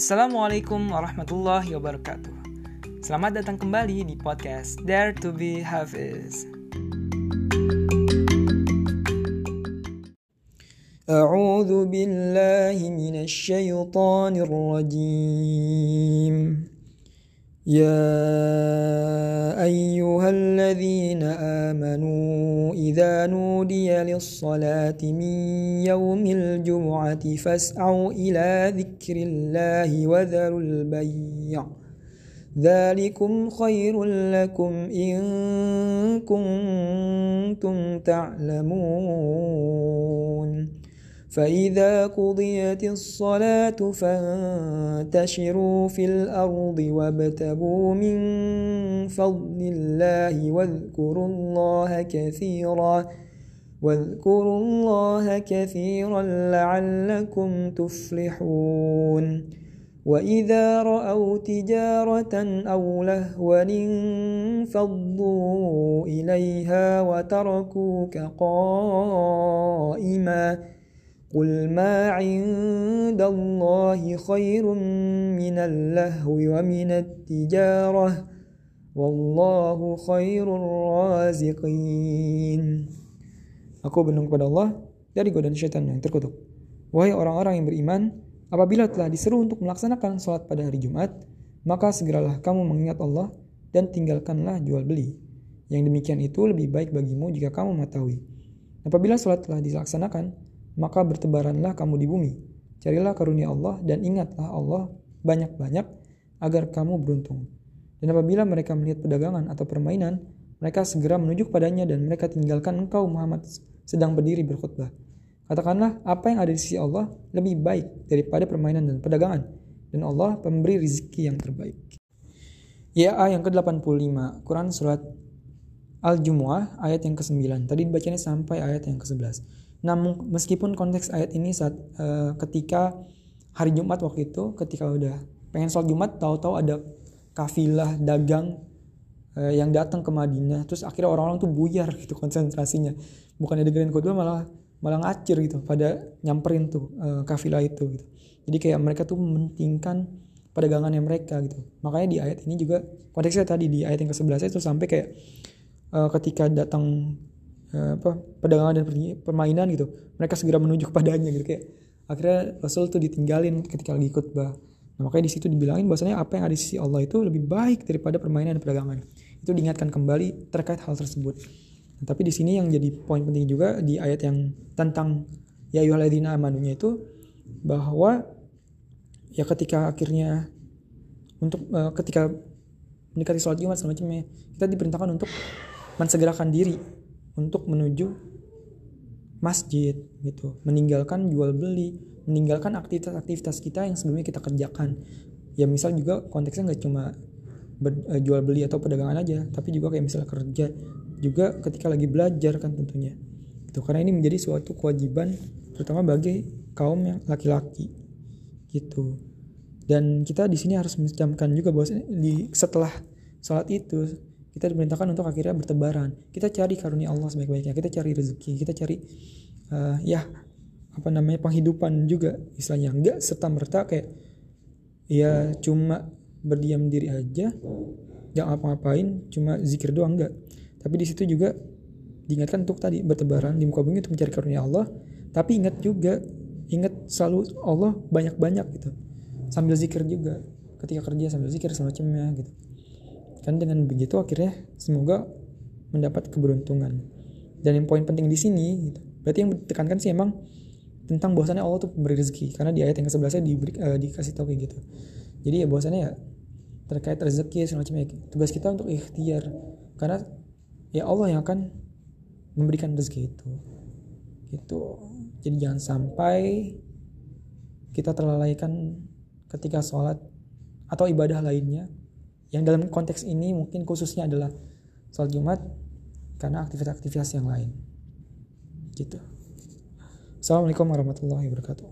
Assalamualaikum warahmatullahi wabarakatuh. Selamat datang kembali di podcast Dare to be Hafiz. A'udzu billahi minasy syaithanir rajim. Ya ayyuhalladzina amanu idza nudiya lis-salati min yaumil jumu'ati fas'au ila dzikrillahi wa dzarul bay'. Dzalikum khairul lakum in kuntum ta'lamun. فإذا قضيت الصلاة فانتشروا في الأرض وابتغوا من فضل الله واذكروا الله كثيرا لعلكم تفلحون وإذا رأوا تجارة أو لهوا انفضوا إليها وتركوك قائما قل ما عند الله خير من اللهو ومن التجارة والله خير الرازقين. Aku berlindung kepada Allah dari godaan syaitan yang terkutuk. Wahai orang-orang yang beriman, apabila telah diseru untuk melaksanakan salat pada hari Jumat, maka segeralah kamu mengingat Allah dan tinggalkanlah jual beli. Yang demikian itu lebih baik bagimu jika kamu mengetahui. Apabila salat telah dilaksanakan, maka bertebaranlah kamu di bumi. Carilah karunia Allah dan ingatlah Allah banyak-banyak agar kamu beruntung. Dan apabila mereka melihat perdagangan atau permainan, mereka segera menuju kepadanya dan mereka tinggalkan engkau Muhammad sedang berdiri berkhutbah. Katakanlah, apa yang ada di sisi Allah lebih baik daripada permainan dan perdagangan, dan Allah pemberi rezeki yang terbaik. Ya, yang ke-85, Quran Surat Al-Jumu'ah ayat yang ke-9. Tadi dibacanya sampai ayat yang ke-11. Namun meskipun konteks ayat ini saat ketika hari Jumat waktu itu, ketika udah pengen sholat Jumat, tahu-tahu ada kafilah dagang yang datang ke Madinah, terus akhirnya orang-orang tuh buyar gitu konsentrasinya, bukannya dengerin khutbah malah ngacir gitu pada nyamperin tuh kafilah itu gitu. Jadi kayak mereka tuh mementingkan perdagangannya mereka gitu. Makanya di ayat ini juga konteksnya tadi di ayat yang ke-11 itu sampai kayak ketika datang perdagangan dan permainan gitu, mereka segera menuju kepadanya gitu, kayak akhirnya Rasul tuh ditinggalin ketika lagi khutbah. Nah, makanya di situ dibilangin bahwasanya apa yang ada di sisi Allah itu lebih baik daripada permainan dan perdagangan. Itu diingatkan kembali terkait hal tersebut. Nah, tapi di sini yang jadi poin penting juga di ayat yang tentang ya ayyuhalladzina amanunya itu, bahwa ya ketika akhirnya untuk ketika mendekati sholat Jumat semacamnya, kita diperintahkan untuk mensegerakan diri untuk menuju masjid gitu, meninggalkan jual beli, meninggalkan aktivitas-aktivitas kita yang sebelumnya kita kerjakan. Ya misal juga konteksnya nggak cuma jual beli atau perdagangan aja, tapi juga kayak misalnya kerja juga ketika lagi belajar kan tentunya gitu, karena ini menjadi suatu kewajiban terutama bagi kaum yang laki-laki gitu. Dan kita di sini harus mencamkan juga bahwa setelah sholat itu kita diperintahkan untuk akhirnya bertebaran. Kita cari karunia Allah sebaik-baiknya. Kita cari rezeki. Kita cari penghidupan juga istilahnya. Enggak serta-merta kayak ya cuma berdiam diri aja, enggak ngapa-ngapain, cuma zikir doang, enggak. Tapi di situ juga diingatkan untuk tadi bertebaran di muka bumi untuk mencari karunia Allah. Tapi ingat selalu Allah banyak-banyak gitu. Sambil zikir juga. Ketika kerja sambil zikir semacamnya gitu. Kan dengan begitu akhirnya semoga mendapat keberuntungan. Dan yang poin penting di sini gitu, berarti yang ditekankan sih emang tentang bahwasannya Allah tuh memberi rezeki, karena di ayat yang ke-11 dikasih tahu kayak gitu. Jadi ya bahwasannya ya terkait rezeki semacamnya, tugas kita untuk ikhtiar, karena ya Allah yang akan memberikan rezeki itu gitu. Jadi jangan sampai kita terlalaikan ketika sholat atau ibadah lainnya, yang dalam konteks ini mungkin khususnya adalah sholat Jumat, karena aktivitas-aktivitas yang lain gitu. Assalamualaikum warahmatullahi wabarakatuh.